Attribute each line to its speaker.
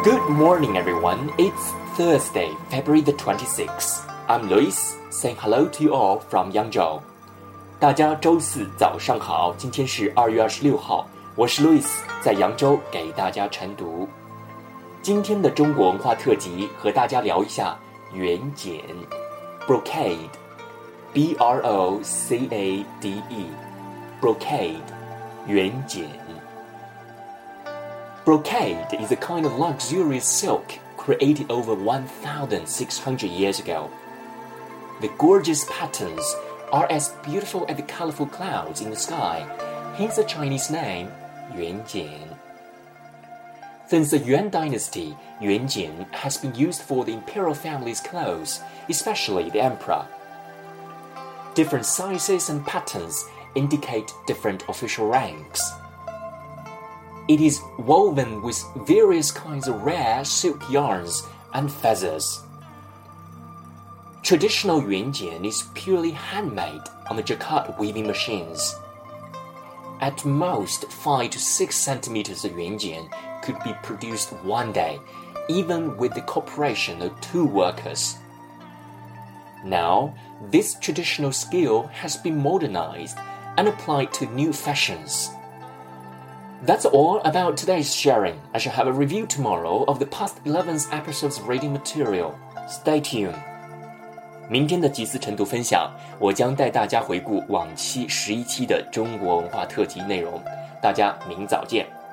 Speaker 1: Good morning, everyone. It's Thursday, February the 26th. I'm Luis, saying hello to you all from Yangzhou. 大家周四早上好，今天是2月26号，我是 Luis， 在扬州给大家晨读。今天的中国文化特辑和大家聊一下元剪 Brocade B-R-O-C-A-D-E Brocade 元剪Brocade is a kind of luxurious silk created over 1,600 years ago. The gorgeous patterns are as beautiful as the colorful clouds in the sky, hence the Chinese name, Yuanjian. Since the Yuan dynasty, Yuanjian has been used for the imperial family's clothes, especially the emperor. Different sizes and patterns indicate different official ranks.It is woven with various kinds of rare silk yarns and feathers. Traditional yuanjian is purely handmade on the jacquard weaving machines. At most, 5 to 6 centimeters of yuanjian could be produced one day, even with the cooperation of 2 workers. Now, this traditional skill has been modernized and applied to new fashions.That's all about today's sharing. I shall have a review tomorrow of the past 11 episodes reading material. Stay tuned. 明天的集思晨读分享，我将带大家回顾往期11期的中国文化特辑内容。大家明早见。